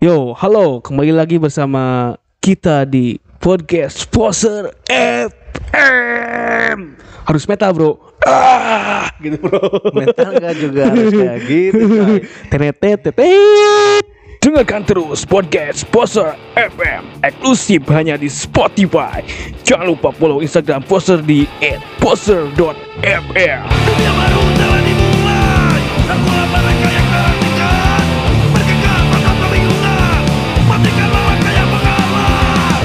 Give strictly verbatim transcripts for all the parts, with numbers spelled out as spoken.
Yo, halo, kembali lagi bersama kita di podcast Poser F M. Harus metal, bro. Ah, gitu, bro. Metal gak juga harus kayak gitu, coy. Tenet-tenet. Dengarkan terus podcast Poser F M eksklusif hanya di Spotify. Jangan lupa follow Instagram Poser di et poser dot f m. Dunia baru telah dimulai. Semua mereka yang terhentikan bergegas pada kebingungan. Matikan mereka yang mengalah.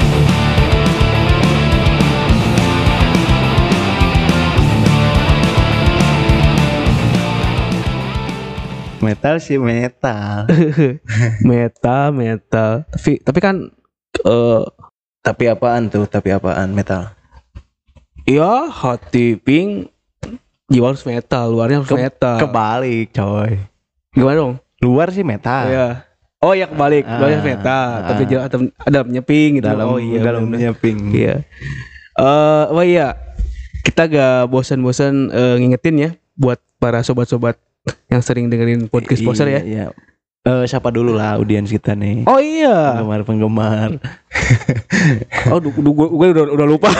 Metal sih metal. Metal, metal. Tapi tapi kan eh Tapi apaan tuh? Tapi apaan metal? ya hati pink jiwa harus metal, luarnya harus Ke- metal. Kebalik, coy. Gimana dong? Luar sih metal. Iya. Oh ya kebalik, Ah, luarnya metal, ah. tapi jalan ada dalamnya pink gitu. Dalam oh iya, dalamnya bener. pink. Iya. Eh, oh iya. Kita gak bosan-bosan eh, ngingetin ya buat para sobat-sobat yang sering dengerin podcast Poser ya. Iya. Eh, siapa dulu lah audiens kita nih? Oh iya. Penggemar-penggemar. Oh, du, du, gue, gue udah, udah lupa.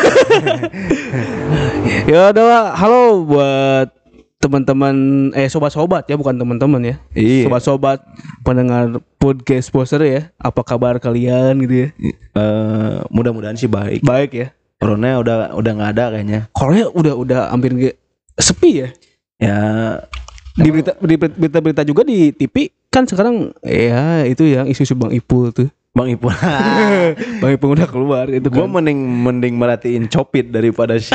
Ya udah lah. Halo buat teman-teman eh sobat-sobat ya, bukan teman-teman ya. Iya. Sobat-sobat pendengar podcast Poser ya. Apa kabar kalian gitu ya? Eh, mudah-mudahan sih baik. Baik ya. Corona udah udah nggak ada kayaknya. Korea udah udah hampir nggak sepi ya. Ya Di berita di berita-berita juga di T V kan sekarang ya itu yang isu-isu Bang Ipul tuh. Bang Ipul. Bang Ipul udah keluar itu Gue kan. mending mending merhatiin Copit daripada si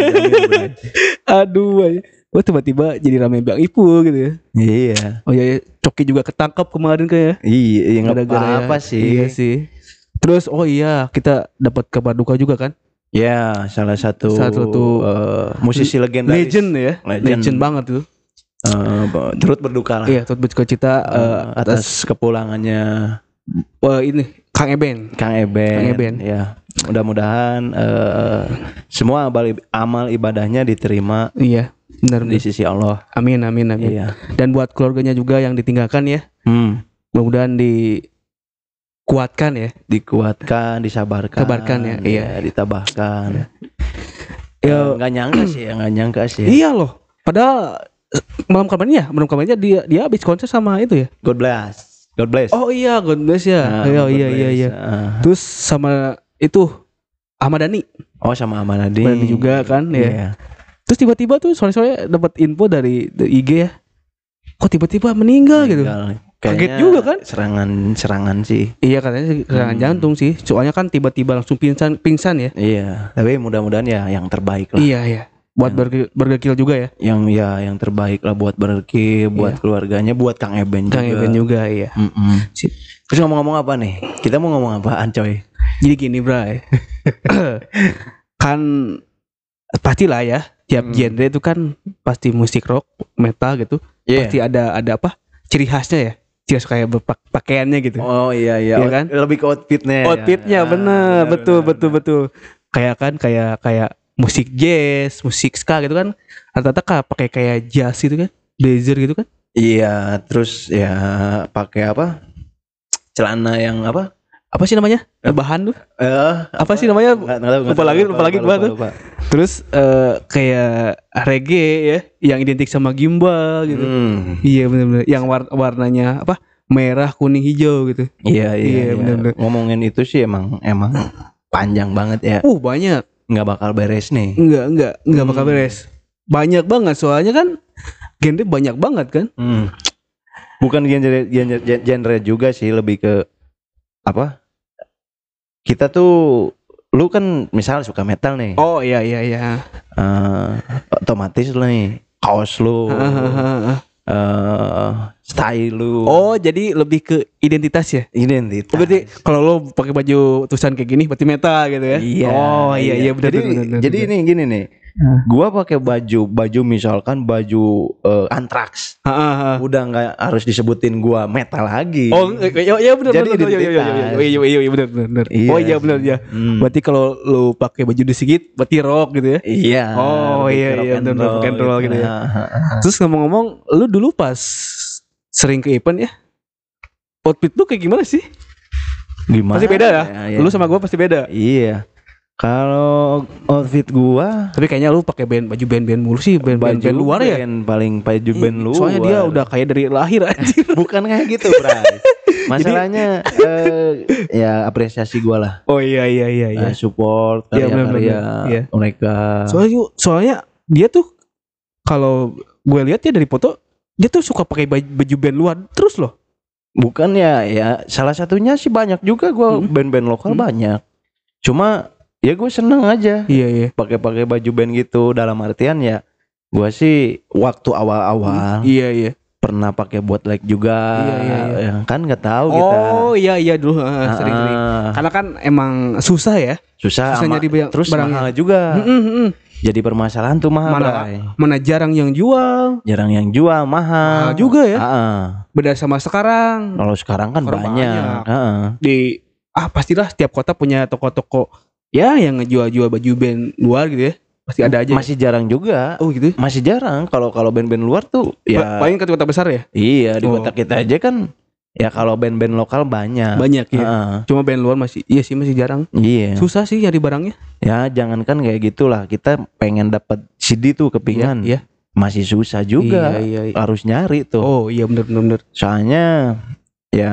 Aduh, ay. Oh tiba-tiba jadi rame Bang Ipul gitu ya. Iya. Oh iya, iya. Coki juga ketangkap kemarin kayak. Iya, ya nggak Gara-gara ya. apa-apa sih. Iya sih. Terus oh iya kita dapat kabar duka juga kan. Ya, salah satu Salah satu eh, musisi legendaris. Legend ya. Legend. Legend, banget tuh. Eh, turut berduka lah Iya, turut berduka cita eh, eh, atas atas kepulangannya eh, ini Kang Eben. Kang Eben. Kang Eben. Ya, mudah-mudahan eh, semua amal, amal ibadahnya diterima Iya, benar di benar. sisi Allah. Amin amin amin. Iya. Dan buat keluarganya juga yang ditinggalkan ya, Hmm. mudah-mudahan dikuatkan ya. Dikuatkan, disabarkan. Sabarkan ya, iya. ditabahkan. Ya, Eh, Nggak nyangka sih, ya, nggak nyangka sih. iya loh. Padahal eh, malam kemarin ya, malam kemarinnya dia dia habis konser sama itu ya. God bless. God bless. Oh iya, God bless ya. Nah, iya God iya iya bless. iya. Ah. Terus sama itu Ahmad Dhani, Oh, sama Amanadi. Dhani juga kan ya. Iya. Terus tiba-tiba tuh sore-sore dapat info dari, dari I G ya. Kok tiba-tiba meninggal gitu. Meninggal. Kaget Kayaknya juga kan? Serangan-serangan sih. Iya katanya sih serangan Hmm. jantung sih. Soalnya kan tiba-tiba langsung pingsan pingsan ya. Iya. Tapi mudah-mudahan ya yang terbaik lah. Iya iya. Buat burger, burger kill juga ya. Yang ya yang terbaik lah buat Berki, buat Iya. keluarganya, buat Kang Eben juga. Kang Eben juga iya. Mm-mm. Sip. Terus ngomong-ngomong apa nih? Kita mau ngomong apaan, coy? Jadi gini, Bray. Kan pastilah ya, tiap Hmm. genre itu kan pasti musik rock, metal gitu. Iya. Pasti ada ada apa? Ciri khasnya ya. Ciri khas kayak berpakaiannya gitu. Oh iya iya. Iya Out- kan? Lebih ke outfitnya. ya. Outfitnya Ah, bener, benar, betul benar, betul benar. betul. Kayak kan kayak kayak musik jazz, musik ska gitu kan. Rata-rata kan pakai kayak jazz gitu kan. Blazer gitu kan. Iya, terus ya pakai apa? Celana yang apa? Apa sih namanya? Bahan tuh. Eh, Apa sih namanya? Nggak- nggak tahu, nggak Lupa tahu, lagi, lupa lagi gua tuh. lupa. Terus eh, kayak reggae ya, yang identik sama gimbal gitu. Hmm. Iya benar-benar. Yang war- warnanya apa? Merah, kuning, hijau gitu. Iya iya, Iya, iya. bener-bener. Ngomongin itu sih emang emang panjang banget ya. Uh banyak. Nggak bakal beres nih. Enggak enggak enggak bakal Hmm. beres. Banyak banget soalnya kan genre banyak banget kan. Hmm. Bukan genre, genre genre juga sih, lebih ke apa? Kita tuh lu kan misal suka metal nih. Oh iya iya iya. Eh, otomatis lu nih kaos lu, eh style lu. Oh jadi lebih ke identitas ya. identitas. Oh, berarti kalau lo pakai baju tulisan kayak gini berarti metal gitu ya. Iya. Oh iya iya benar Jadi, benar benar. jadi ini gini nih. Hmm. Gua pakai baju baju misalkan baju eh, Anthrax. benar. Udah nggak harus disebutin gua metal lagi. Oh iya iya benar Jadi benar. Iya iya iya identitas. iya iya iya benar benar. Iya Oh iya sih. benar ya. Hmm. Berarti kalau lo pakai baju disigit berarti rock gitu ya. Iya. Oh, lebih iya, ke rock iya, and bener, rock and roll gitu ya. Nah, Terus ngomong-ngomong, lu dulu pas sering ke event ya, outfit lu kayak gimana sih? Gimana? Pasti beda ya. ya, ya. Lu sama gua pasti beda. Iya. Kalau outfit gua Tapi kayaknya lu pakai band baju band-band mulu sih, band-band band luar ya. band, paling baju band Ih, luar. Soalnya dia udah kayak dari lahir anjir. Bukan kayak gitu, Bray. Masalahnya eh, ya apresiasi gua lah. Oh iya iya iya iya. Eh, support Iya, karya-karya benar-benar. Iya. mereka. Soalnya soalnya dia tuh kalau gue lihat ya dari foto dia tuh suka pakai baju, baju band luar terus loh. Bukan ya, ya salah satunya sih banyak juga gua Hmm. band-band lokal Hmm. banyak. Cuma ya gue seneng aja Iya iya. pakai-pakai baju band gitu, dalam artian ya gua sih waktu awal-awal Iya iya. pernah pakai buat like juga. Iya, iya, iya. Ya, kan nggak tahu kita. Oh iya iya dulu uh, Ah, sering-sering. ah, Karena kan emang susah ya. susah, susah ama- nyari ba- terus barangnya. mahal juga. Mm-mm, mm-mm. Jadi permasalahan tuh mahal, Mana Bray. mana jarang yang jual. Jarang yang jual, mahal. Mahal juga ya. Ah, ah. Beda sama sekarang. Kalau sekarang kan Sekarang banyak. banyak. Ah, ah. Di ah pastilah setiap kota punya toko-toko ya yang ngejual-jual baju band luar gitu ya. Pasti ada aja. Masih jarang juga. Oh gitu. Masih jarang kalau kalau band-band luar tuh Ya. ya. Paling ke kota besar ya. Iya, di Oh. kota kita aja kan ya kalau band-band lokal banyak. Banyak ya. Ah, Cuma band luar masih iya sih masih jarang. iya. Susah sih nyari barangnya. Ya jangankan kayak gitulah, kita pengen dapat C D tuh kepingan. Iya. Masih susah juga. Iya, iya, iya. Harus nyari tuh. Oh iya benar benar benar. Soalnya ya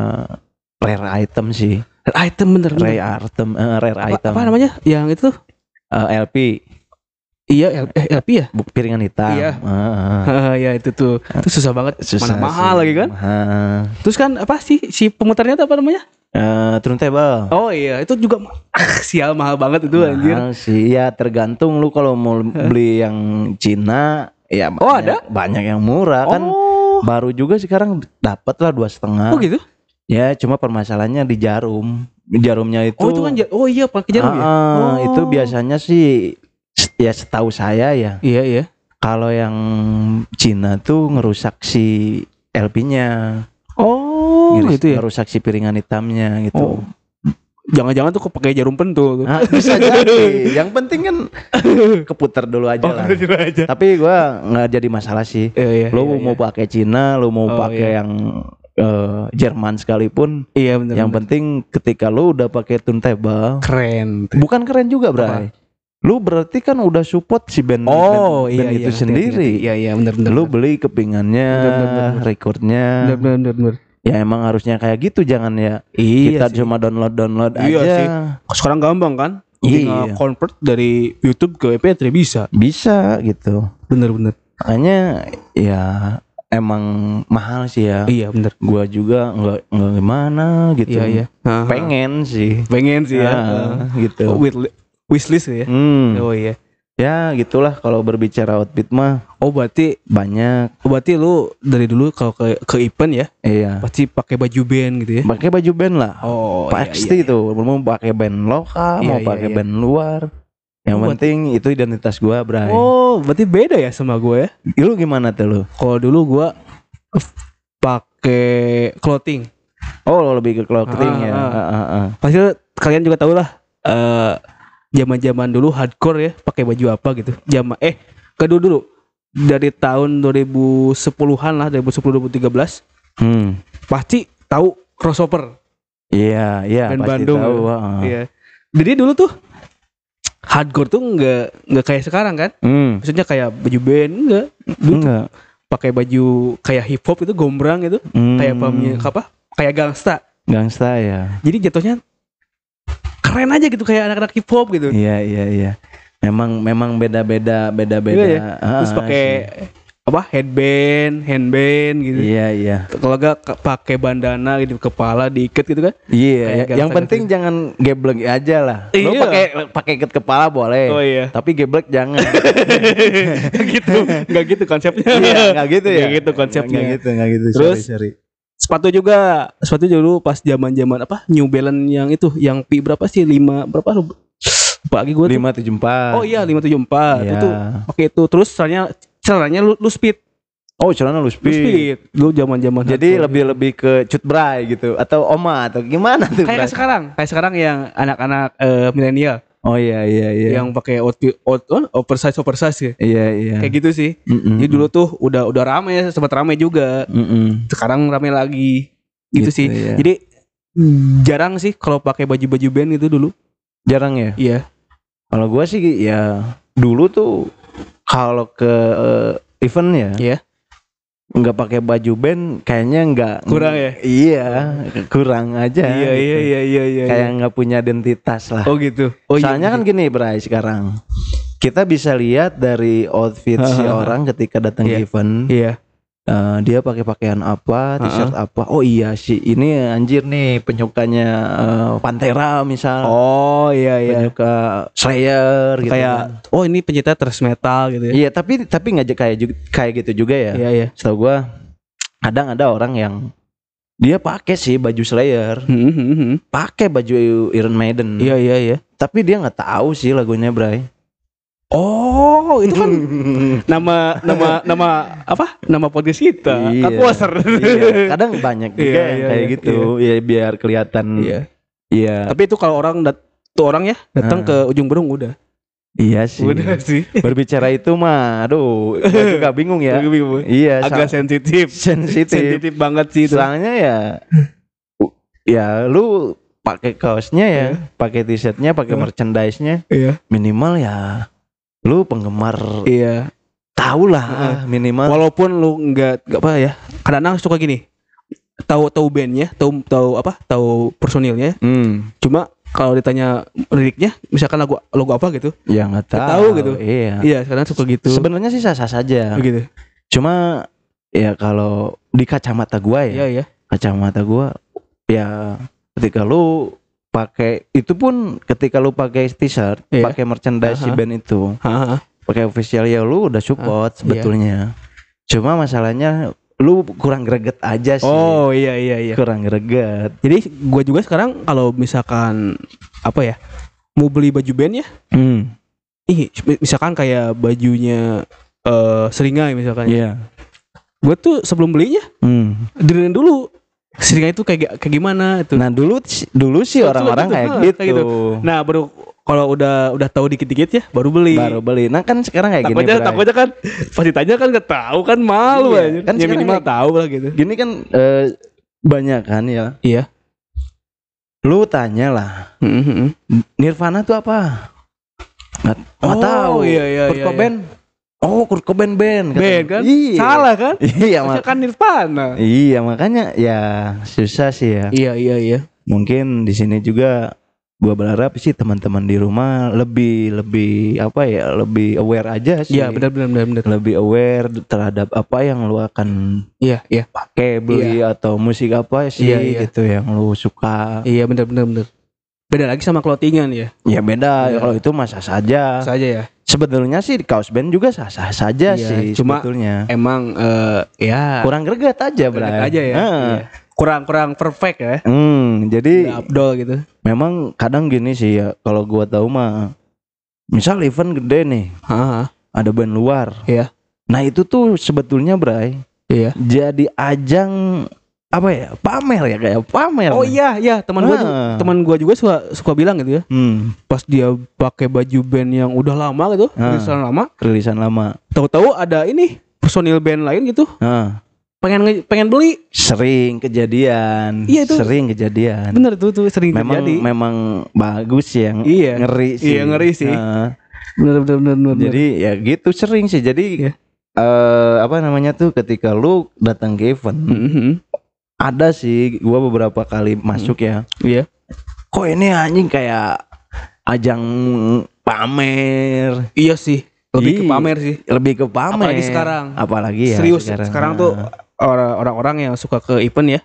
rare item sih. Item bener bener. Rare item, eh, rare Apa, item. apa namanya? Yang itu tuh? Eh, L P, Iya L, eh, L P ya? buk piringan hitam. Iya. Ah, ya itu tuh. Itu susah banget. susah Mana mahal sih. lagi kan? Ah. Terus kan apa sih si pemutarnya tuh apa namanya? Eh, turntable. Oh iya, itu juga ma- sial mahal banget itu anjir. Mahal sih, ya tergantung lu kalau mau beli yang Cina, ya Oh, banyak, ada? banyak yang murah kan. Oh. Baru juga sekarang dapat lah dua setengah. Oh gitu? Ya cuma permasalahannya di jarum. Jarumnya itu. Oh itu kan ja- oh iya pakai jarum ya? Ah, Oh. itu biasanya sih ya setahu saya ya. Iya iya. Kalau yang Cina tuh ngerusak si L P-nya. Oh Ngeris- gitu ya. Ngerusak si piringan hitamnya gitu. Oh. Jangan-jangan tuh kok pakai jarum pentul tuh. Ah, bisa jadi. Yang penting kan keputar dulu aja lah. aja. Tapi gua nggak jadi masalah sih. Iya iya. Lu iya, mau iya. pakai Cina, lu mau Oh, pakai iya. yang eh, Jerman sekalipun, Iya benar. yang penting ketika lu udah pakai turntable, keren. bukan keren juga, Bray. Lu berarti kan udah support si band, Oh band, iya band iya. itu ngerti, sendiri. ngerti. Iya iya benar benar. Lu beli kepingannya, Bener, bener, bener. recordnya. benar benar benar, benar. Ya emang harusnya kayak gitu, jangan ya Iya kita sih. cuma download-download Iya aja. sih. Sekarang gampang kan? Tinggal Iya. convert dari YouTube ke M P tiga bisa. Bisa gitu. Bener-bener. Makanya ya emang mahal sih ya. Iya bener. Gua juga nggak nggak gimana gitu. Iya iya. Nah, Pengen sih. pengen sih ya. Ah, gitu. Oh, with wishlist ya. Hmm. Oh iya. Ya gitulah kalau berbicara outfit mah Oh berarti banyak. oh, berarti lu dari dulu kalau ke ke event ya Iya. pasti pakai baju band gitu ya. Pakai baju band lah. Oh Pasti itu mau pakai band lokal, Iya, mau iya, pakai iya. band luar. Yang Oh, buat- penting itu identitas gua, Bray. Oh berarti beda ya sama gue ya. Lu gimana tuh lu? Kalau dulu gue pakai clothing. Oh, lo lebih ke clothing Ah, ya. ah. Ah, ah, ah. Pasti kalian juga tahu lah. eh Zaman-zaman dulu hardcore ya, pakai baju apa gitu. Zaman eh kedua dulu dari tahun dua ribu sepuluhan lah, dua ribu sepuluh dua ribu tiga belas Hmm. pasti tahu crossover Iya, iya band pasti Bandung. tahu. ya. ah. Iya. Jadi dulu tuh hardcore tuh nggak nggak kayak sekarang kan? Hmm. Maksudnya kayak baju band enggak. Dulu tuh Enggak. pakai baju kayak hip hop itu gombrang gitu, Hmm. kayak pamnya apa? Kayak gangsta. Gangsta ya. Jadi jatuhnya keren aja gitu kayak anak-anak hip hop gitu. Iya, iya, iya. Memang memang beda-beda beda-beda. Iya ya. Ah, Terus pakai sih. apa? Headband, handband gitu. Iya, iya. Kalau enggak ke- pakai bandana gitu kepala diikat gitu kan. Iya, Kayak yang gangsta- penting jangan geblek aja lah. Lu Iya. pakai pakai ikat kepala boleh. Oh iya. Tapi geblek jangan. Enggak gitu. Enggak gitu konsepnya. Iya, enggak gitu ya. Nggak gitu konsepnya. Enggak gitu, enggak gitu. Terus, sorry, sorry. Sepatu juga, sepatu dulu pas zaman-zaman apa? New Balance yang itu, yang Pi berapa sih? lima berapa? Lupa lagi gue tuh. lima tujuh empat. Oh iya lima tujuh empat. Iya. Itu pakai itu terus caranya caranya lu, lu speed. Oh, celana lu Lu speed. speed. Lu zaman-zaman Jadi hardcore. lebih-lebih ke cut bray gitu atau oma atau gimana tuh? kayak Bray? sekarang, kayak sekarang yang anak-anak eh, milenial Oh iya iya iya. yang pakai outfit out, oh, oversize oversize ya. Iya iya. Kayak gitu sih. Mm-mm. Jadi dulu tuh udah udah ramai, sempat ramai juga. Mm-mm. Sekarang ramai lagi. Gitu, Gitu, sih. ya. Jadi jarang sih kalau pakai baju-baju band itu dulu. Jarang ya. Iya. Kalau gua sih ya dulu tuh kalau ke eh, event ya, Iya. nggak pakai baju band kayaknya nggak Kurang ya? Iya, kurang aja. Iya, gitu. iya, iya, iya, iya. Kayak nggak punya identitas lah. Oh gitu. Oh iya. Soalnya kan gini, Bray, sekarang kita bisa lihat dari outfit si orang ketika datang Iya. ke event, Iya. eh, dia pakai pakaian apa, t-shirt apa. Oh iya sih, ini anjir nih penyukanya eh, Pantera misal, Oh iya iya. penyuka Slayer gitu. Kayak kan. oh ini pencinta thrash metal gitu ya. Iya, tapi tapi nggak j- kayak ju- kayak gitu juga ya. Iya iya. Setahu gua kadang ada orang yang dia pakai sih baju Slayer, Hmm, hmm, hmm. pakai baju Iron Maiden. Iya iya iya. Tapi dia nggak tahu sih lagunya, Bray. Oh, itu kan nama nama nama apa? Nama podcast kita. Iya. Kan poster. Iya, kadang banyak juga Iya, yang iya, kayak iya, gitu. Ya biar kelihatan. Iya. Iya. Tapi itu kalau orang dat tuh orang ya datang Ah. ke ujung berung udah. Iya sih. Udah sih. Berbicara itu mah, aduh, gua juga bingung ya. Agak bingung. Iya, Agak sa- sensitif. sensitif. Sensitif banget sih itu. Soalnya ya, ya lu pakai kaosnya ya, pakai t-shirtnya, pakai Iya. merchandise-nya, Iya. minimal ya, lu penggemar Iya. tahu lah Heeh. minimal. Walaupun lu nggak nggak apa ya. Kadang-kadang suka gini. Tahu tahu bandnya, tahu tahu apa? Tahu personilnya. Hmm, Cuma kalau ditanya liriknya, misalkan lagu lagu apa gitu. ya nggak tahu. Nggak tahu gitu. Iya. Iya, kadang suka gitu. Sebenarnya sih sah-sah saja. Begitu. Cuma ya kalau di kacamata gua ya, Iya, iya. kacamata gua ya ketika lu pakai itu pun ketika lu pakai t-shirt, Iya. pakai merchandise si Aha. band itu, Heeh. pakai official ya lu udah support iya. sebetulnya. Cuma masalahnya lu kurang greget aja sih. Oh, iya iya iya. Kurang greget. Jadi gua juga sekarang kalau misalkan apa ya? Mau beli baju band ya? Hmm. Ih, misalkan kayak bajunya eh Seringai misalkan. Iya. Gue tuh sebelum belinya Hmm. dengerin dulu Seringai itu kayak kayak gimana itu. Nah, dulu dulu sih Betul, orang-orang betul, kayak ha, gitu. kayak gitu. Nah, baru kalau udah udah tahu dikit-dikit ya baru beli. Baru beli. Nah, kan sekarang kayak gini, takutnya Bray. takutnya kan pasti tanya kan nggak tahu kan malu Iya, aja. kan Ya sekarang minimal kayak- tahu lah gitu. Gini kan eh, banyak kan ya. Iya. Lu tanya lah, Mm-hmm. Nirvana tuh apa? Nggak, nggak Oh, tahu. iya, iya, Kurt iya, Cobain. Oh, Kurt Cobain band. katanya. Band kan? Iya. Salah kan? Iya, Maksudnya mak- kan Nirvana. iya makanya ya susah sih ya. Iya iya iya. Mungkin di sini juga gua berharap sih teman-teman di rumah lebih lebih apa ya, lebih aware aja sih. Iya benar benar benar benar. Lebih aware terhadap apa yang lu akan Iya iya. pakai, beli atau musik apa sih Iya, iya. gitu yang lu suka. Iya benar benar benar. Beda lagi sama clothingan ya. Ya beda, Iya. kalau itu mah sah saja. Saja ya. Sebetulnya sih di kaos band juga sah-sah saja Iya, sih cuma sebetulnya. Emang eh ya Kurang greget aja, berat Bray. aja ya. Heeh. Iya. Kurang kurang perfect ya. Hmm, jadi Udah abdol gitu. memang kadang gini sih ya, kalau gua tahu mah misal event gede nih, Heeh. ada band luar. Iya. Nah, itu tuh sebetulnya, Bray, Iya. jadi ajang apa ya? Pamer ya, kayak pamer. Oh iya iya teman gua Nah. juga, teman gua juga suka suka bilang gitu ya. Hmm, Pas dia pakai baju band yang udah lama gitu, Ah. rilisan lama, rilisan lama. tahu-tahu ada ini personil band lain gitu, Nah, pengen nge- pengen beli. sering kejadian. Iya, itu. Sering kejadian. Bener tuh tuh sering Memang terjadi. memang bagus ya. Iya. Ngeri sih. Iya, ngeri sih. Nah, Bener bener bener bener. jadi ya gitu sering sih. Jadi Iya. eh apa namanya tuh ketika lu datang ke event, Mhm. ada sih gua beberapa kali masuk ya. Iya. Kok ini anjing kayak ajang pamer. Iya sih. Lebih ke Iya. pamer sih. Lebih ke pamer. Apalagi sekarang. Apalagi ya Serius sekarang, tuh Nah, orang- orang-orang yang suka ke event ya.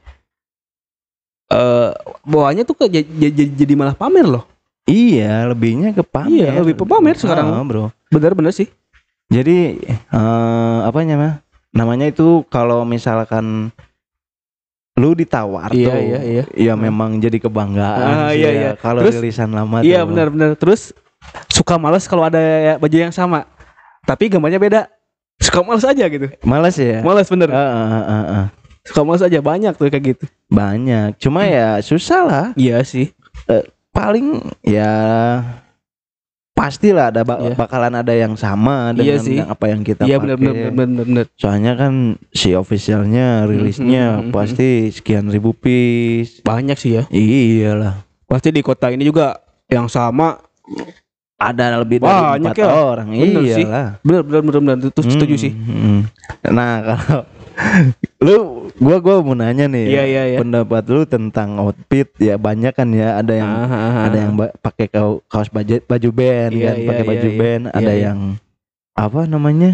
Eh bawaannya tuh ke j- j- j- jadi malah pamer loh. iya, lebihnya ke pamer. Iya, lebih ke pamer sekarang. Ah, bro. Bener-bener sih. Jadi eh apa namanya? Namanya itu kalau misalkan lu ditawar Iya, tuh, iya, iya. ya memang jadi kebanggaan Ah, sih iya, ya. iya. Kalau Terus- rilisan lama Iya tuh. benar-benar. Terus suka males kalau ada baju yang sama. Tapi gambarnya beda. Suka males aja gitu. Males ya. Males bener. Ah, ah, ah, ah, ah. Suka males aja banyak tuh kayak gitu. Banyak. Cuma ya susah lah. Iya sih. Paling ya pastilah ada ba- Iya. bakalan ada yang sama Iya dengan sih. yang apa yang kita Iya pakai. benar benar benar benar. Soalnya kan si officialnya rilisnya Mhm, mhm, pasti sekian ribu piece. Banyak sih ya. Iyalah. Pasti di kota ini juga yang sama. Ada lebih dari Banyak empat ya. orang. Bener sih. Iyalah. Benar benar benar benar itu setuju Hmm, sih. hmm. Nah kalau lu, gua gua mau nanya nih. Iya iya iya. Pendapat lu tentang outfit ya banyak kan ya. Ada yang Ah, ah, ah. ada yang ba- pakai kau- kaos baju baju band Iya, kan, iya, pakai iya, baju iya. band. Ada Iya, iya. yang apa namanya?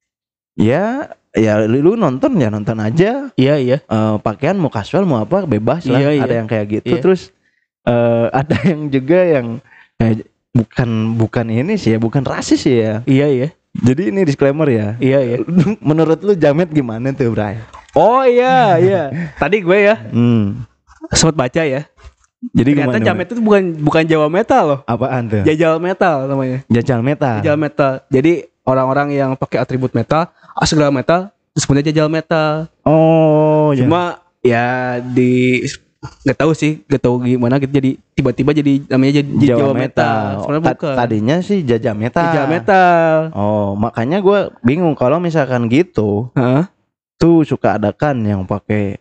Ya ya lu, lu nonton ya nonton aja. Iya iya. Eh, pakaian mau casual mau apa bebas lah. Iya, iya. Ada yang kayak gitu. Iya. Terus eh, ada yang juga yang eh, bukan bukan ini sih ya, bukan rasis sih ya. Iya iya. Jadi ini disclaimer ya. Iya iya. Menurut lu jamet gimana tuh, Bray? Oh iya iya. Tadi gue ya Hmm. sempat baca ya. Jadi Ternyata gimana? jamet itu bukan bukan Jawa metal loh. Apaan tuh? Jajal metal namanya. Jajal metal. Jajal metal. Jadi orang-orang yang pakai atribut metal, ah, segala metal, terus punya jajal metal. Oh, ya. Cuma ya di nggak tahu sih, nggak tahu gimana gitu jadi tiba-tiba jadi namanya jadi Jawa, metal. Sebenarnya Ta- bukan. Tadinya sih jajal metal. Jajal metal. Oh, makanya gue bingung kalau misalkan gitu, Heeh. tuh suka ada kan yang pakai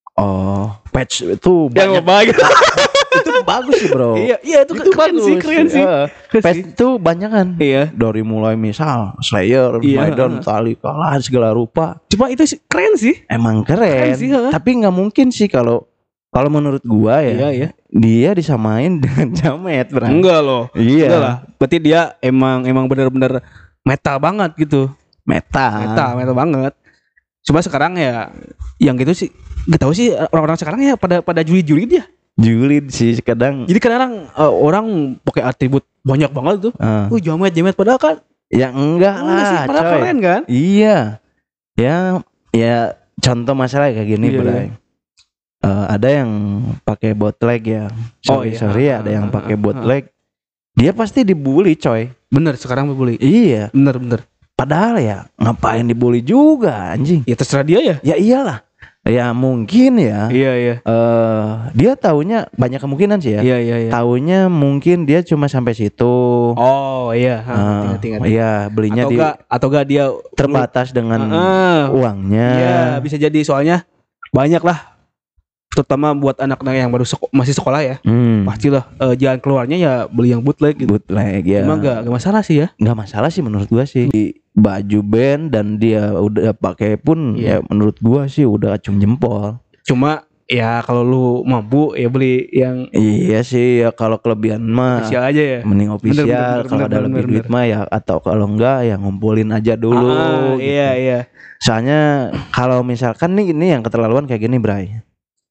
oh patch itu Yang banyak. bagus. Itu bagus sih, Bro. Iya, iya itu, Itu keren bagus. sih, keren sih. Eh, Keren patch sih. itu banyak kan. Iya. Dari mulai misal Slayer, Iya. Maiden, Metallica lah segala rupa. Cuma itu sih keren sih. Emang keren. Keren sih, heeh. Tapi nggak mungkin sih kalau kalau menurut gua ya. Iya, iya. Dia disamain dengan jamet, Bro. Enggak loh. Iya. Enggak lah. Berarti dia emang emang benar-benar metal banget gitu. Metal. Metal, metal banget. Cuma sekarang ya yang gitu sih gak tahu sih orang-orang sekarang ya pada pada juli-juli dia. Julid sih kadang. Jadi kadang uh, orang pakai atribut banyak banget tuh. eh, Uh, jamet jamet padahal kan ya enggak enggak sih, lah, padahal coy. keren kan? Iya. Ya, ya contoh masalah kayak gini, Iya, Bray. iya. Eh, ada yang pakai bootleg ya. Oh, Sorry, iya. sorry ya, ada yang Ah, pakai ah, bootleg. Dia pasti dibully, coy. Bener sekarang dibully. Iya. Bener bener. Padahal ya ngapain dibully juga, anjing. Ya terserah dia ya. Ya iyalah. Ya mungkin ya. Iya iya. eh dia taunya banyak kemungkinan sih ya. Iya iya iya. Taunya mungkin dia cuma sampai situ. Oh iya. Eh, Ha, ngerti, ngerti, ngerti. Iya, belinya Atau di enggak atau enggak dia terbatas dengan Ah, uangnya. iya bisa jadi soalnya banyak lah. Terutama buat anak-anak yang baru seko- masih sekolah ya. Hmm. Pastilah eh, jalan keluarnya ya beli yang bootleg gitu. Bootleg ya. Cuma enggak enggak masalah sih ya. Nggak masalah sih menurut gua sih. Di baju band dan dia udah pakai pun Iya. ya menurut gua sih udah acung jempol. Cuma ya kalau lu mampu ya beli yang Iya sih ya kalau kelebihan mah official aja ya. mending official. Bener, bener, Kalau bener, ada bener, lebih bener, duit mah ya atau kalau enggak ya ngumpulin aja dulu. Ah, gitu. iya iya. Soalnya kalau misalkan nih ini yang keterlaluan kayak gini, Bray.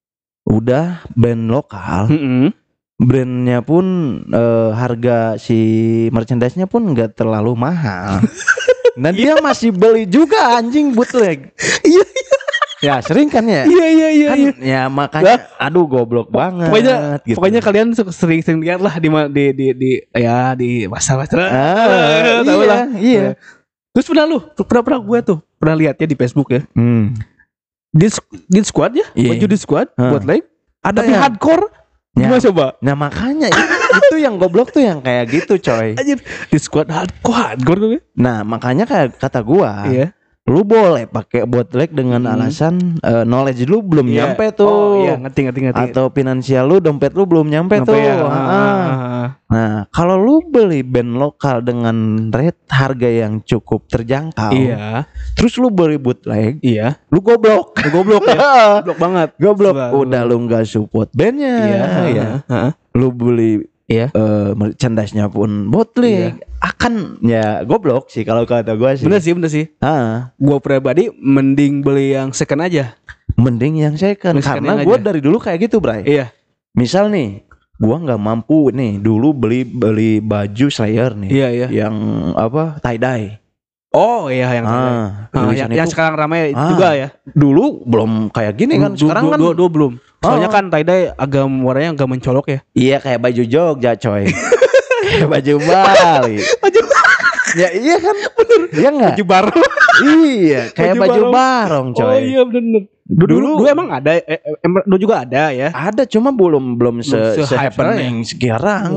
Udah band lokal, Mm-mm. brandnya pun eh, harga si merchandise-nya pun nggak terlalu mahal. Nah dia masih beli juga anjing bootleg. Iya Ya sering kan ya. iya iya iya. Kan iya. ya makanya aduh goblok banget. Pokoknya gitu. pokoknya kalian su- sering-sering lihat lah di ma- di di, di ya di pasar-pasar. Ah, Tahu iya, lah. iya. Terus pernah lu, pernah pernah gue tuh pernah lihat ya di Facebook ya. Hmm. Di di squad ya, Iya. baju di squad Hah. buat like. Ada Tapi yang- hardcore. Ya. Gimana coba? Nah makanya itu, itu yang goblok tuh yang kayak gitu coy. Anjir, di squad hardcore hardcore tuh. Nah makanya kayak kata gua, Iya. lu boleh pakai bootleg dengan Hmm. alasan eh, knowledge lu belum Iya. nyampe tuh. Oh iya, ngerti ngerti ngerti. Atau finansial lu, dompet lu belum nyampe Sampai tuh. ya. Ah. Ah, ah, ah. Nah, kalau lu beli band lokal dengan rate harga yang cukup terjangkau, Iya. terus lu beli bootleg, Iya. lu goblok. Lu goblok ya. Goblok banget. Goblok. Selalu. Udah lu nggak support bandnya, Iya. ya. Heeh. Lu beli Iya. eh, merchandise-nya pun bootleg, akan ya goblok sih kalau kata gua sih. Bener sih, bener sih. Ah, Gua pribadi mending beli yang second aja. mending yang second Mending second karena yang gua aja. dari dulu kayak gitu, Bray. Iya. Misal nih, gua nggak mampu nih dulu beli beli baju Slayer nih. Iya, iya. Yang apa? tie dye. Oh iya yang Ah, ah, tulisan yang, yang itu sekarang ramai Ah. juga ya. dulu belum kayak gini kan. Du- Sekarang du- kan du- du- belum. Soalnya Oh. kan tie-dye agak warnanya agak mencolok ya. iya kayak baju Jogja, coy. Kayak baju Bali. Baju Ya iya kan, bener. Iya enggak? baju baru. Iya, kayak Baju baju barong. barong, coy. Oh iya bener. Dulu, dulu, Dulu- dulu emang ada, eh, eh, em- dulu juga ada ya. Ada cuma belum belum se, Belum se-hype happening sekarang.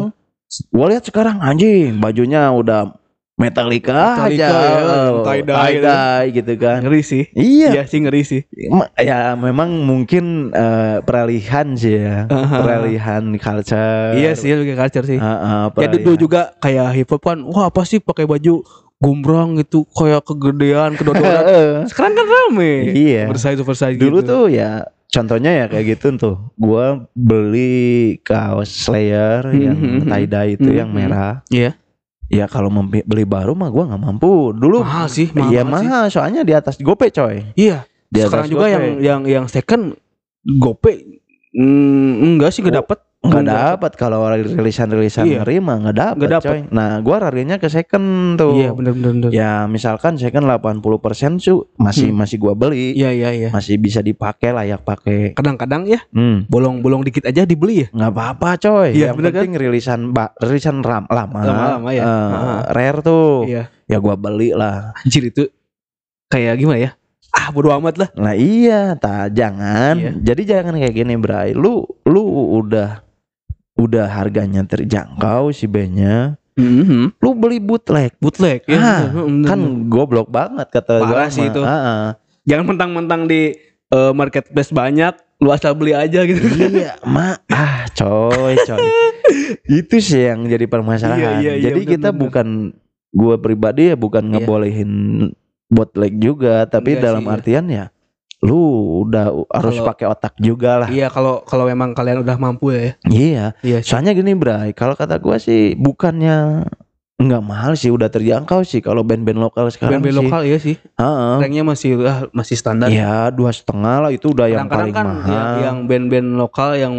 Gua lihat sekarang anjing bajunya udah Metallica, Metallica aja, ya, tie-dye gitu. tie-dye gitu kan. Ngeri sih. Iya. Iya sih ngeri sih. Ma- Ya memang mungkin eh, peralihan sih ya, Aha. peralihan culture. Iya sih lebih ke culture sih. Heeh, Ya dulu juga kayak hip hop kan, wah apa sih pakai baju gombrang gitu kayak kegedean, kedodoran. Heeh. Sekarang kan rame. Iya. Oversize oversize Dulu gitu. tuh ya contohnya ya kayak gitu tuh. Gua beli kaos Slayer yang Mhm. tie dye itu yang Mhm. merah. Iya. Ya kalau membi- beli baru mah gua nggak mampu. Dulu Mahal sih, mahal Iya banget sih. mahal soalnya di atas GoPay coy. Iya. Di Sekarang atas juga GoPay. yang yang yang second GoPay mm, enggak sih enggak Oh, dapet. Nggak dapat kalau rilisan-rilisan Iya. ngeri mah nggak dapat Nggak dapet. coy. Nah gua larinya ke second tuh. Iya bener bener bener. Ya misalkan second delapan puluh persen su masih Hmm. masih gua beli. Iya iya iya. Masih bisa dipakai layak pakai. Kadang-kadang ya Hmm. bolong-bolong dikit aja dibeli ya. Nggak apa-apa coy. Iya, Yang bener penting rilisan ba- rilisan ram lama. Lama-lama ya. Eh, Heeh. rare tuh. Iya. Ya gua beli lah. Anjir itu kayak gimana ya? Ah bodo amat lah. Nah iya, tak jangan. Iya. Jadi jangan kayak gini, Bray. Lu lu udah udah harganya terjangkau si bandnya. Mhm. Lu beli bootleg. Bootleg ya. Ah, bener, bener, Kan bener. goblok banget kata gua Parah sih mah. itu. Ah, ah. Jangan mentang-mentang di eh, marketplace banyak, lu asal beli aja gitu. Iya, mak. Ah, coy, coy. Itu sih yang jadi permasalahan. Iya, iya, iya, jadi bener, kita bener. bukan gua pribadi ya bukan Iya. ngebolehin bootleg juga, tapi Enggak dalam sih, iya. artian ya lu udah harus Kalau- pakai otak juga lah. Iya kalau kalau memang kalian udah mampu ya. Iya. Iya sih. Soalnya gini, Bray, kalau kata gua sih bukannya nggak mahal sih, udah terjangkau sih kalau band-band lokal sekarang Band-band sih. lokal iya sih. Heeh. Ranknya masih ah, masih standar. Iya, dua setengah lah itu udah yang Kadang-kadang paling kan mahal. yang, yang band-band lokal yang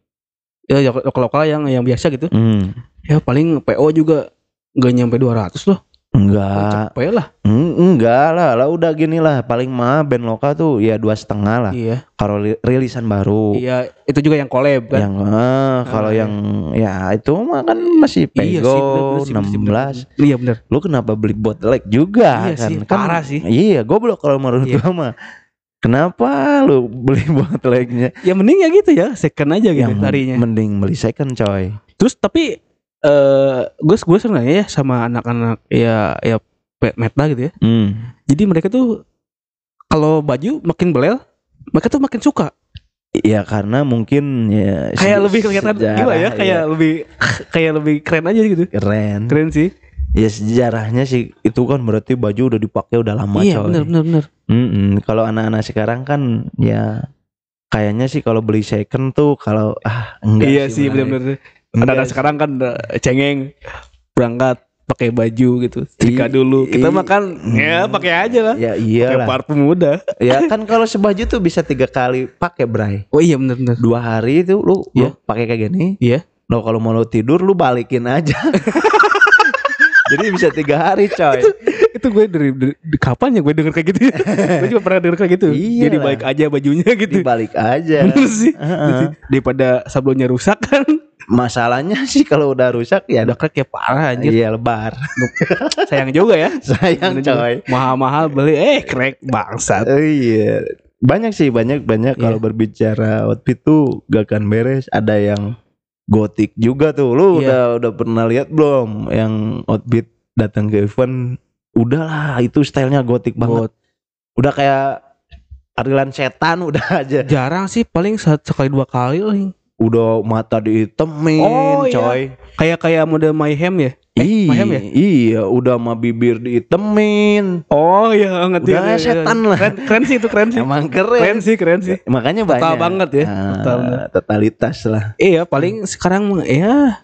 ya lokal-lokal yang yang biasa gitu. Hmm, Ya paling P O juga nggak nyampe dua ratus loh. enggak, Cepet lah. Hmm, enggak lah, lah udah gini lah, paling mahal band lokal tuh ya dua setengah lah. Iya. Kalau li- rilisan baru, Iya, itu juga yang collab kan. yang eh, kalau Ah, yang ya itu mah kan masih Iya sih, bener, pego bener sih, enam bener, belas. bener. Iya bener. Lu kenapa beli bootleg juga Iya kan? sih, Kan parah sih. Iya, goblok kalau menurut Iya. gua mah. Kenapa lu beli bootlegnya? Ya mending ya gitu ya, second aja gitu Yang larinya. mending beli second coy. Terus tapi eh gue gue sebenarnya ya sama anak-anak ya ya pe- meta gitu ya. Hmm. Jadi mereka tuh kalau baju makin belel, mereka tuh makin suka. Ya karena mungkin ya Kayak se- lebih kelihatan sejarah, gimana ya, kayak ya, lebih kayak lebih keren aja gitu. keren. Keren sih. Ya sejarahnya sih itu kan berarti baju udah dipakai udah lama Iya, coy. benar benar benar. Mm-mm. Kalau anak-anak sekarang kan ya kayaknya sih kalau beli second tuh kalau ah enggak Iya sih, Bray. benar-benar. Enggak Anak-anak sih. sekarang kan udah cengeng berangkat pakai baju gitu. Setrika I- dulu. Kita i- makan ya pakai aja lah. Ya Pakai iyalah. parfum udah. Ya kan kalau sebaju tuh bisa tiga kali pakai, Bray. Oh iya benar benar. Dua hari itu lu, lu Iya. pakai kayak gini. Iya. Lo kalau mau lu tidur lu balikin aja. Jadi bisa tiga hari coy. Itu gue dari, dari, dari kapan ya gue denger kayak gitu ya? Gue juga pernah denger kayak gitu. Iyalah. Jadi balik aja bajunya gitu. Dibalik aja. Bener sih. Heeh. Daripada sablonnya rusak kan. Masalahnya sih kalau udah rusak ya Udah crack ya parah anjir. iya lebar. Sayang juga ya. Sayang Bener juga. coy. Mahal-mahal beli eh crack bangsat. Oh iya. Banyak sih, banyak banyak kalau Iya. berbicara outfit tuh gak akan beres. Ada yang gotik juga tuh. Lu Iya. udah udah pernah lihat belum yang outfit datang ke event? Udahlah, itu stylenya gotik banget. Buat Udah kayak arilan setan udah aja. jarang sih paling satu sekali dua kali lah. Udah mata dihitemin, Oh, iya. coy. Kayak kayak mode Mayhem ya. Eh, Mayhem ya? Iya, udah mah bibir dihitemin. Oh iya ngerti. Udah ngerti, setan ngerti. lah. Keren, keren sih itu keren sih. Emang Keren keren. sih keren sih. Makanya Total banyak. banget ya. Ah, Total banget. totalitas lah. Iya paling sekarang ya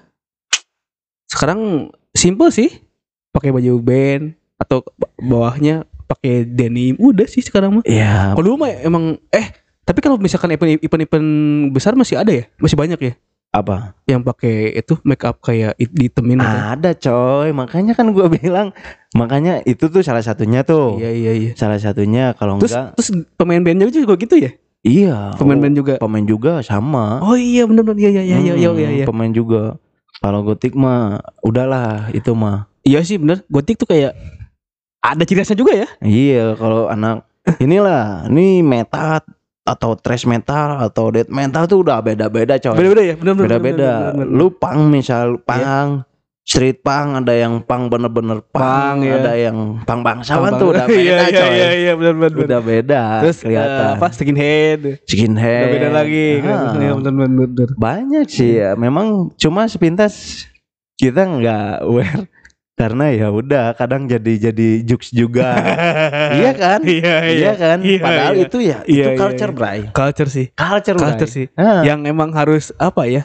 sekarang simple sih, pakai baju band atau ba- bawahnya pakai denim udah sih sekarang mah. Iya. Kalau dulu mah emang eh tapi kalau misalkan event event event besar masih ada ya, masih banyak ya Apa? yang pakai itu make up kayak it- ditemin gitu. Ada coy. Makanya kan gua bilang, makanya itu tuh salah satunya tuh. Iya iya iya. Salah satunya kalau Terus enggak. terus pemain bandnya juga gitu ya? Iya. Pemain oh, band juga. Pemain juga sama. Oh iya benar benar iya iya iya iya iya iya. Hmm, Pemain juga. Kalau gotik mah udahlah itu mah. Iya sih benar. Gotik tuh kayak ada ciri khasnya juga ya. Iya, kalau anak inilah, ini meta atau thrash metal atau death metal tuh udah beda-beda coy. Beda-beda ya, benar-benar. Beda-beda. Lu punk misal punk, street punk, ada yang punk bener-bener punk, Punk, ya. ada yang punk bangsawan Punk, tuh udah beda iya, iya, coy. Iya iya benar-benar. Udah beda. Terus kelihatan. eh, apa skinhead. Skinhead. Udah beda lagi. Ah. Iya benar-benar. Banyak sih ya. Memang cuma sepintas kita nggak aware karena ya udah kadang jadi jadi jokes juga. Iya kan? Iya Iya kan? Iya, Padahal iya. itu ya Iya, itu iya, culture, iya. Bray. Culture sih. Culture, Bray. Culture sih. Ah. Yang emang harus apa ya?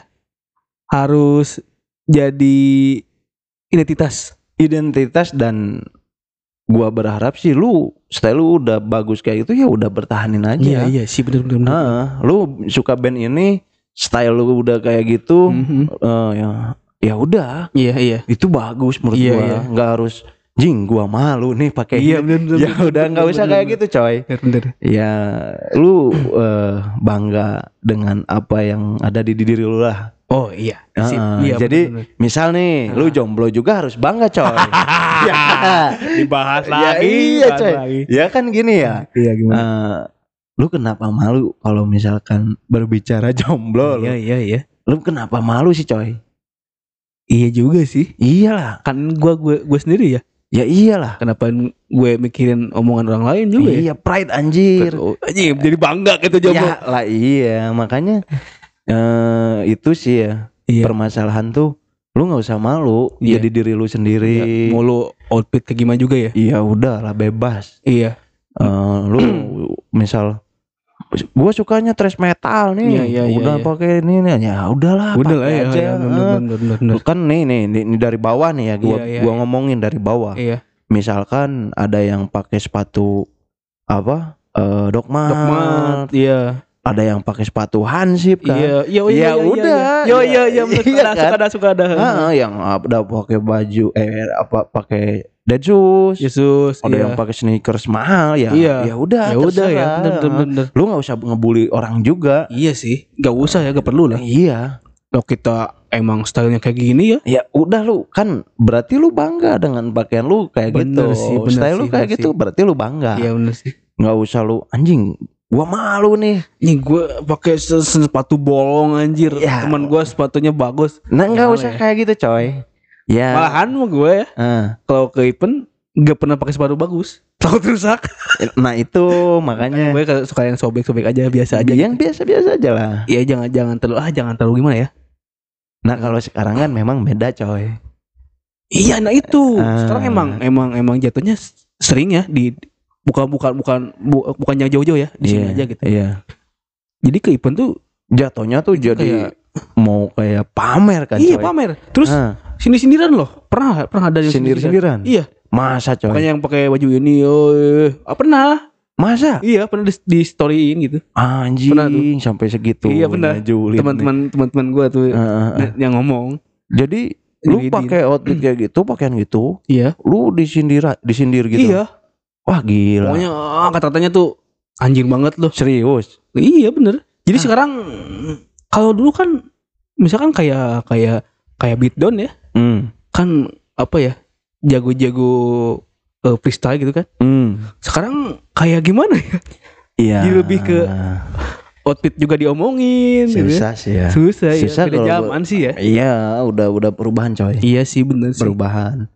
Harus jadi identitas. Identitas dan gua berharap sih lu style lu udah bagus kayak gitu ya udah bertahanin aja. Iya iya sih benar-benar. Ah, lu suka band ini, style lu udah kayak gitu, Mhm. eh, ya ya udah, Iya iya. itu bagus menurut Iya, gua. iya. Nggak harus jing gua malu nih pakai Iya ini. benar-benar. Ya udah nggak usah kayak gitu coy. Benar. Ya lu eh, bangga dengan apa yang ada di diri lu lah. Oh iya. Ah, Sip. ah. Iya, Jadi benar-benar. misal nih lu jomblo juga harus bangga coy. Ya. dibahas Ya, lagi. iya dibahas coy. lagi. Ya kan gini ya. Iya gimana? Eh, lu kenapa malu kalau misalkan berbicara jomblo lu? Iya iya iya. Lu kenapa malu sih coy? Iya juga sih. Iyalah. Kan gua gue gue sendiri ya. Ya iyalah. Kenapa gue mikirin omongan orang lain juga ya? Iya, pride anjir. Oh, anjing, jadi bangga gitu jomblo. Ya lah iya, makanya eh itu sih ya. Iya. Permasalahan tuh lu nggak usah malu Iya. jadi diri lu sendiri. Iya, mau lu outfit kayak gimana juga ya? Iya udahlah bebas. Iya. Eh, lu misal gua sukanya thrash metal nih, Iya, iya, iya, udah iya. pakai ini nih, ya udahlah Udah pakai lah ya. aja. ya, bener, Eh, bener, bener, bener. Lu kan nih nih nih, nih dari bawah nih ya, gua Iya, iya, gua iya. ngomongin dari bawah. Iya. Misalkan ada yang pakai sepatu apa? Eh Dogmart. Dogmat. Iya. Ada yang pakai sepatu Hansip kan. Iya. Iya. Ya iya, iya, udah. Iya iya iya. Iya, Suka ada, kan? suka ada, suka ada. Ah, yang ada pakai baju eh apa pakai dead shoes. Yesus. Ada iya. yang pakai sneakers mahal ya. Iya. Ya udah, Ya udah ya. terserah. Bener, bener, bener. Lu nggak usah ngebully orang juga. Iya sih. Gak usah ya. Gak perlu lah. Iya. Kalau kita emang stylenya kayak gini ya. Ya udah lu kan berarti lu bangga dengan pakaian lu kayak Bener gitu. sih, bener Style lu sih, kayak bener gitu sih. berarti lu bangga. Iya bener sih. Nggak usah lu anjing. Gua malu nih. Nih gue pakai se- sepatu bolong anjir. Ya. Teman gue sepatunya bagus. Nah nggak Gimana usah ya? kayak gitu coy. Ya. Malahan mau gue ya. Ah. Kalau ke event gak pernah pakai sepatu bagus. Takut rusak. Nah itu makanya Gue suka yang sobek-sobek aja biasa aja. yang biasa-biasa aja lah. Iya jangan jangan terlalu ah jangan terlalu gimana ya. Nah kalau sekarang kan memang beda coy. Iya nah itu. Ah. Sekarang emang emang emang jatuhnya s- sering ya di bukan bukan bukan bu- bukan yang jauh-jauh ya di sini Iya, aja gitu. Iya. Jadi ke event tuh Jatuhnya tuh jadi kayak- mau kayak pamer kan iya coy. pamer. Terus Ah, sindir-sindiran loh. Pernah pernah ada yang sindir-sindiran. Iya. Masa coy? Makanya yang pakai baju ini oh eh. ah, pernah. Masa? Iya pernah di, di storyin gitu. Anjing Pernah tuh. sampai segitu. Iya, benar. Julid nih. Teman-teman teman-teman gue tuh Ah, ah, ah. yang ngomong. Jadi lu Julidin. pakai outfit kayak gitu, pakaian gitu, Iya. lu disindir disindir gitu. Iya. Wah gila. Pokoknya ah, kata-katanya tuh anjing banget loh. Serius. Iya bener. Jadi Ah. sekarang kalau dulu kan misalkan kayak kayak kayak beatdown ya, Hmm. kan apa ya jago-jago eh, freestyle gitu kan. Hmm. Sekarang kayak gimana ya? Iya. Jadi lebih ke outfit juga diomongin. gitu ya. susah sih ya. Susah, ya. Susah Beda kalau zaman sih ya. Iya, udah udah perubahan coy. Iya sih bener sih. Perubahan.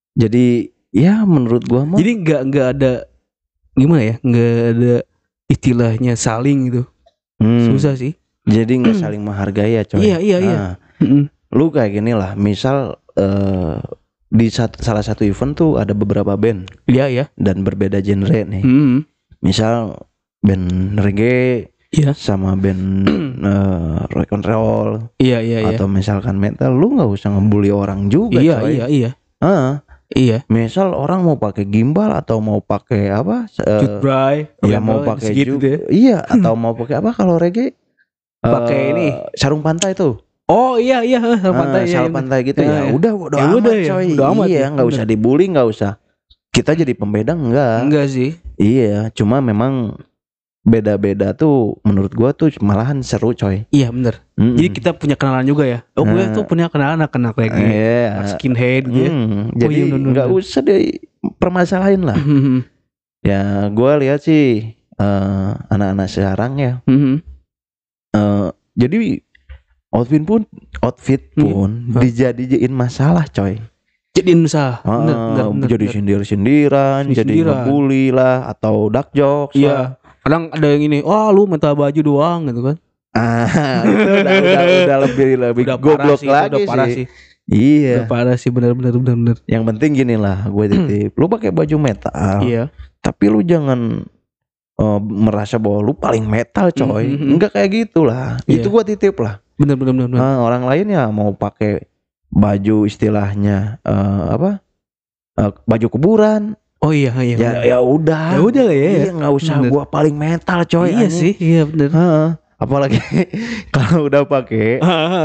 Jadi ya menurut gua mah Jadi nggak nggak ada gimana ya? Nggak ada istilahnya saling gitu. hmm, Susah sih. jadi nggak saling menghargai ya coy. Iya, iya, iya. Nah, Mm-mm. lu kayak gini lah, misal eh, di sat- salah satu event tuh ada beberapa band Iya ya. dan berbeda genre nih. Mm-mm. Misal band reggae Iya. sama band eh, rock and roll Iya iya iya. atau misalkan metal, lu nggak usah ngebully orang juga Iya coy. iya iya. Ah, Iya. misal orang mau pakai gimbal atau mau pakai apa? eh, Cut Bray. ya mau pakai segitu juga. deh. Iya, atau mau pakai apa kalau reggae? Pakai Eh, ini. sarung pantai tuh. Oh iya iya, sarung Ah, pantai ya. sarung pantai gitu Ya, ya. ya. Udah, udah Ya amat udah ya, coy. udah amat iya, ya, nggak bener. usah dibully, nggak usah. Kita jadi pembeda enggak? Enggak sih. Iya, cuma memang beda-beda tuh menurut gua tuh malahan seru coy. Iya bener. Mm-mm. Jadi kita punya kenalan juga ya. Oh gue Nah. tuh punya kenalan anak-anak lagi. Iya. Skinhead gitu ya. Hmm, Oh, jadi iya, bener, nggak bener. usah deh permasalahin lah. Mhm. Ya gua lihat sih eh, anak-anak sekarang ya. Mhm. Eh, jadi outfit pun outfit pun Hmm. dijadiin masalah coy. Jadiin masalah. Ah, Bener, bener, bener, jadi bener. sindir-sindiran, jadi Sindir-sindiran. ngebully lah atau dark jokes lah. Iya. Kadang ada yang ini, wah lu minta baju doang gitu kan. Ah, itu udah udah udah lebih lebih Udah parah goblok sih, itu lagi udah parah sih. sih. Iya. Udah parah sih, bener bener bener bener. Yang penting gini lah, gue titip. Lu pakai baju metal, Iya. tapi lu jangan eh, merasa bahwa lu paling metal coy. Mhm. Enggak kayak gitulah. Iya. Itu gue titip lah. Bener bener bener. bener. Nah, orang lain ya mau pakai baju istilahnya eh, apa? Eh, baju kuburan. Oh iya iya. Ya bener. ya udah. Ya udah lah ya. Iya, nggak usah Bener. gua paling metal coy. Iya anjing. sih, iya bener. Heeh. Apalagi kalau udah pakai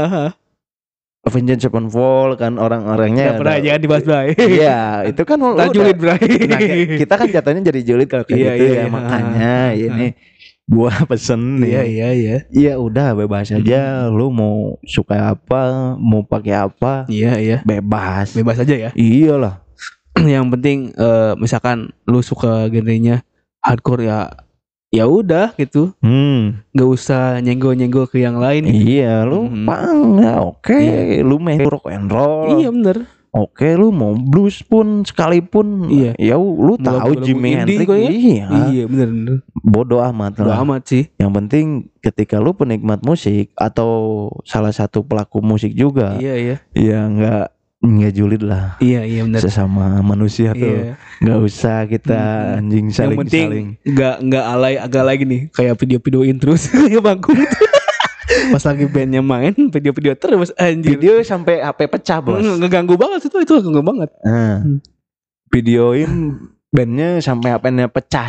Avenged Sevenfold kan orang-orangnya Gak pernah udah- jangan dibahas Bray. Iya, itu kan lu Ntar udah- julid Bray. Nah, kayak- kita kan jatuhnya jadi julid kalau kayak Iya, gitu iya, ya. iya. Makanya ini gua pesen nih. Iya iya iya. Iya udah bebas aja. Lu mau suka apa, mau pakai apa, Iya iya. bebas. Bebas aja ya. Iyalah. Yang penting eh, misalkan lu suka genrenya hardcore ya ya udah gitu. Hmm. Nggak usah nyenggol-nyenggol ke yang lain. Iya, lu Mhm. pang ya oke. Iya. Lu main rock and roll. Iya bener. Oke, lu mau blues pun sekalipun, Iya. ya lu Mau tahu lagu-lagu Jimi indie Hendrix, kok ya? iya, Iya bener bener. bodoh amat Udah lah. amat sih. Yang penting ketika lu penikmat musik atau salah satu pelaku musik juga, Iya iya. ya nggak nggak julid lah Iya iya bener. sesama manusia tuh, Iya. nggak usah kita Mhm. anjing Yang saling penting saling. nggak nggak alay agak lagi nih kayak video-videoin terus ya bangku. Pas lagi bandnya main video-video terus anjir. Video sampai H P pecah bos. Nge- ngeganggu banget itu itu ngeganggu banget. Nah, Hmm. videoin bandnya sampai H P-nya pecah.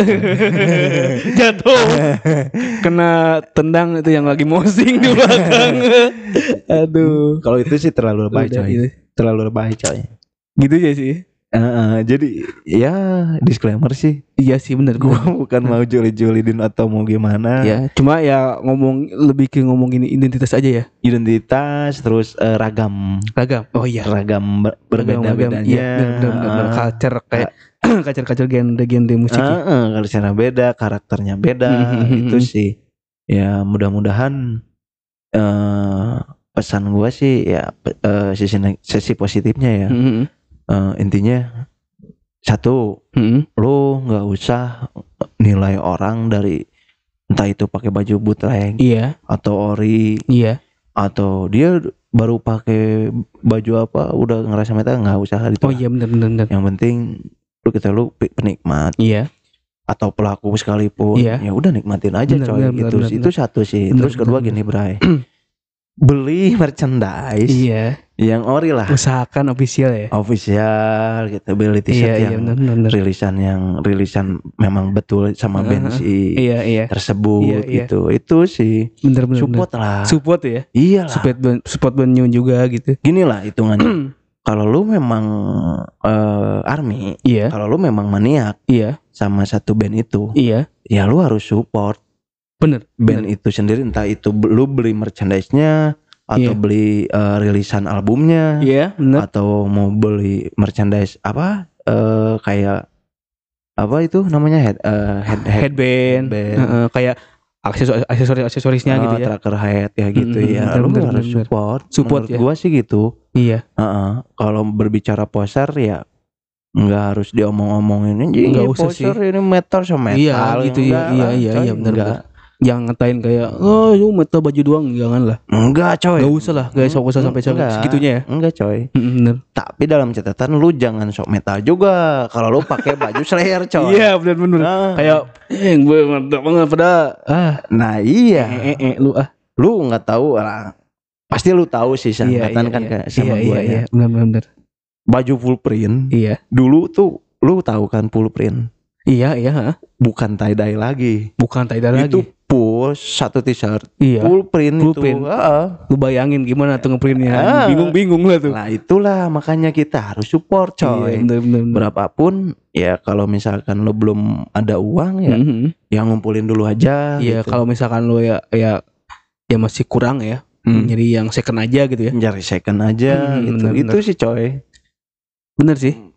Jatuh. Kena tendang itu yang lagi mosing di belakang. Aduh. Kalau itu sih terlalu lebay Udah, coy, gitu. terlalu lebay coy. Gitu aja sih. Heeh, jadi ya disclaimer sih, Iya sih bener gua gua. bukan mau julid-julidin atau mau gimana. Ya, cuma ya ngomong lebih ke ngomongin identitas aja ya. Identitas terus eh, ragam, Ragam. Oh iya. ragam ber- Ragam, berbeda-bedanya. Iya, bener bener bener. Culture kayak culture-culture genre-genre musik. ya. Heeh, kalau cara beda, karakternya beda, Mhm. itu sih. Ya mudah-mudahan eh pesan gua sih ya pe- eh, sisi neg- sisi positifnya ya. Mhm. Eh, intinya satu, Mhm. lu nggak usah nilai orang dari entah itu pakai baju bootleg Iya, atau ori iya. atau dia baru pakai baju apa udah ngerasa metal, nggak usah itu. Oh iya bener bener bener. Yang penting lu kita lu pe- penikmat Iya. atau pelaku sekalipun, Iya. ya udah nikmatin aja Bener, coy. bener, itu bener, itu satu sih. Bener, Terus kedua bener, gini Bray, beli merchandise Iya. yang ori lah, Usahakan official ya. official gitu, beli Iya t-shirt iya yang bener bener. bener. rilisan yang rilisan memang betul sama band Uh-huh. si Iya iya. tersebut Iya, iya. gitu. Itu sih Bener bener. support bener. lah. Support ya. Iyalah. Support band, support band new juga gitu. Gini lah hitungannya. Kalau lu memang eh, army, Iya. kalau lu memang maniak Iya. sama satu band itu, Iya. ya lu harus support Bener. band bener. itu sendiri, entah itu b- lu beli merchandise-nya atau Iya. beli eh, rilisan albumnya Iya bener. atau mau beli merchandise apa eh, kayak apa itu namanya head eh, head, head Headband. headband. Heeh, kayak aksesoris aksesoris aksesorisnya Ah, gitu ya. tracker head ya gitu Mm-mm, ya. bener, Lu bener, harus bener. support. Support Menurut ya. gua sih gitu. Iya. Heeh. Kalau berbicara poser ya nggak harus diomong-omongin ini Nggak usah poser ini metal sama metal. Iya, gitu ya. Enggak Iya, lah, iya, coy. iya, bener, Enggak. Jangan ngatain kayak oh lu metal baju doang, jangan lah. Enggak coy. Gak usah lah, guys, gak usah sampai Enggak. segitunya ya. Enggak coy. Mm, bener. Tapi dalam catatan lu jangan sok metal juga. Kalau lu pakai baju Slayer coy. Iya bener bener. Nah, Kayak eh gue mantap banget pada ah nah iya. eh, eh, eh, lu ah. Lu nggak tahu lah. Pasti lu tahu sih Iya seangkatan iya kan iya. kayak sama iya, gua iya, ya. iya, bener bener. bener. Baju full print. Iya. Dulu tuh lu tahu kan full print. Iya iya, ha? Bukan tie dye lagi. Bukan tie dye Itu lagi. full satu t-shirt Iya. full print Full itu. print. Heeh. Lu bayangin gimana tuh ngeprintnya? Ah. Bingung-bingung lah tuh. Nah itulah makanya kita harus support Iya, coy. bener bener. bener. Berapapun ya kalau misalkan lu belum ada uang ya, Mhm. ya ngumpulin dulu aja. Iya gitu. kalau misalkan lu ya ya ya masih kurang ya, Hmm. jadi yang second aja gitu ya. Cari second aja Hmm, gitu. bener, Itu sih coy. Bener sih.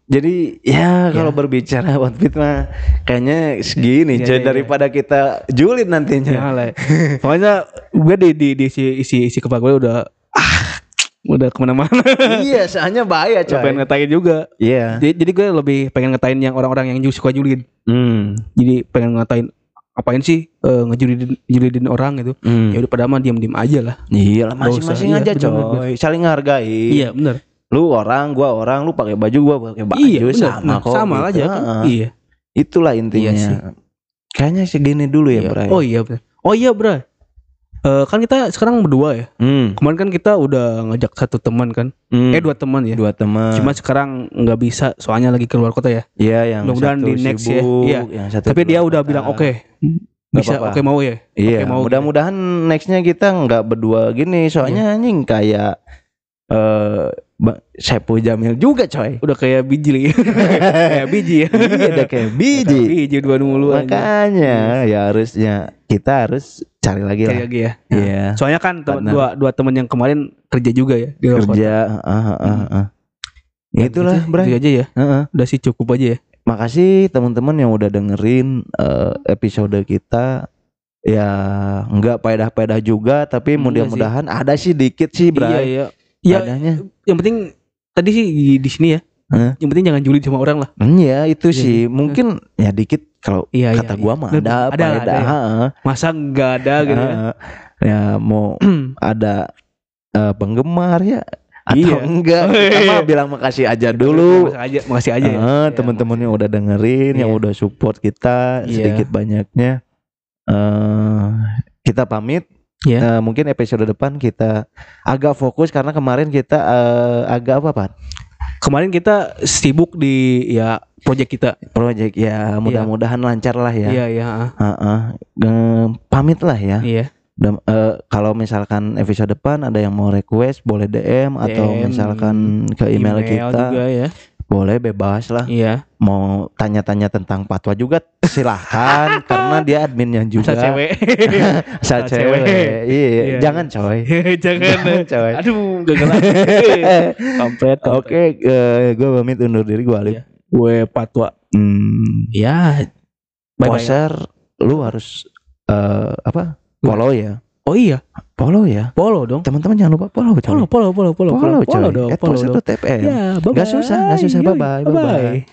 Jadi ya kalau Ya. berbicara outfit mah kayaknya segini Iya, coy iya, iya. daripada kita julid nantinya. Ya lah. Pokoknya gue di di di isi isi isi kepala gue udah ah, udah kemana-mana. Iya, soalnya bahaya Gak pengen coy. ngatain juga. Iya. Jadi, jadi gue lebih pengen ngatain yang orang-orang yang suka julid. Hmm. Jadi pengen ngatain apain sih eh, ngejulidin julidin orang gitu. Hmm. Ya udah pada mah diam-diam aja lah. Iya lah, Nggak masing-masing usah. aja Iya, coy. bener-bener. Saling ngehargai. Iya benar. Lu orang, gua orang, lu pakai baju, gua pakai baju, Iya benar. sama Nah, kok. sama gitu. aja kan. Heeh. Iya. Itulah intinya. Iya sih. Kayaknya segini dulu ya, Iya. Bray. Oh iya benar. Oh iya bro. Eh, kan kita sekarang berdua ya. Hmm. Kemarin kan kita udah ngajak satu teman kan. Hmm. Eh dua teman ya. Dua teman. Cuma sekarang nggak bisa soalnya lagi keluar kota ya. Iya, yang mudah-mudahan satu di next ya. sibuk, Iya. yang satu Tapi dia keluar udah kota. bilang oke. Nggak Bisa apa-apa. oke mau ya. Iya, Oke, mau mudah-mudahan nextnya kita nggak berdua gini, soalnya anjing kayak eh Ba- Saipul Jamil juga coy. Udah kayak biji lagi. Kayak biji ya. Iya, udah kayak biji. Biji dua mulu aja. Makanya ya harusnya kita harus cari lagi Cari lah. lagi ya. Iya. Soalnya kan temen- Partner. dua dua teman yang kemarin kerja juga ya di luar kota. Kerja, ah, ah, ah, ah. Dan Itulah, gitu- Bray. gitu aja ya. Heeh. Udah sih cukup aja ya. Makasih teman-teman yang udah dengerin eh, episode kita. Ya nggak pedah-pedah juga, tapi Enggak mudah-mudahan ada sih dikit sih, Iya Bray. iya. Ya Adanya. yang penting tadi sih di, di sini ya. Hah? Yang penting jangan julid sama orang lah. Iya itu Iya, sih iya. mungkin ya dikit kalau Iya kata iya, gua iya. mah Ada, ada ada lah, faedah. ada ya. Heeh. Masa nggak ada gitu ya. Heeh. Ya mau ada eh, penggemar ya atau Iya. enggak Oh, kita iya. mah bilang makasih aja dulu. Makasih aja, makasih aja ya. Heeh, Ya, teman-teman yang udah dengerin, yang Iya. udah support kita Iya. sedikit banyaknya. eh kita pamit. Iya. Eh, mungkin episode depan kita agak fokus karena kemarin kita eh, agak apa Pak? Kemarin kita sibuk di ya project kita. Project ya mudah-mudahan lancar lah ya. Iya iya. ah. Heeh. Eh, pamit lah ya. Iya. Dan, eh, kalau misalkan episode depan ada yang mau request boleh D M atau D M, misalkan ke email, kita juga ya. boleh bebas lah. Iya. Mau tanya-tanya tentang fatwa juga silahkan karena dia adminnya juga. Asal cewek. Asal Asal cewek. cewek. Iya, Iya, jangan coy. Jangan. coy. Aduh, gagal lagi. Kampret. Oke, gue pamit undur diri gue Alif. Iya. Gue patwa. Hmm, Ya. Bye-bye. poser lu harus eh, apa? Follow ya. Oh iya, Follow ya. follow dong. Teman-teman jangan lupa follow coy. Follow, follow, follow, follow, Follow coy. follow dong, At follow poser dong. dot F M. Ya, bye-bye. Gak susah, gak susah. Yoi, Bye-bye, bye-bye.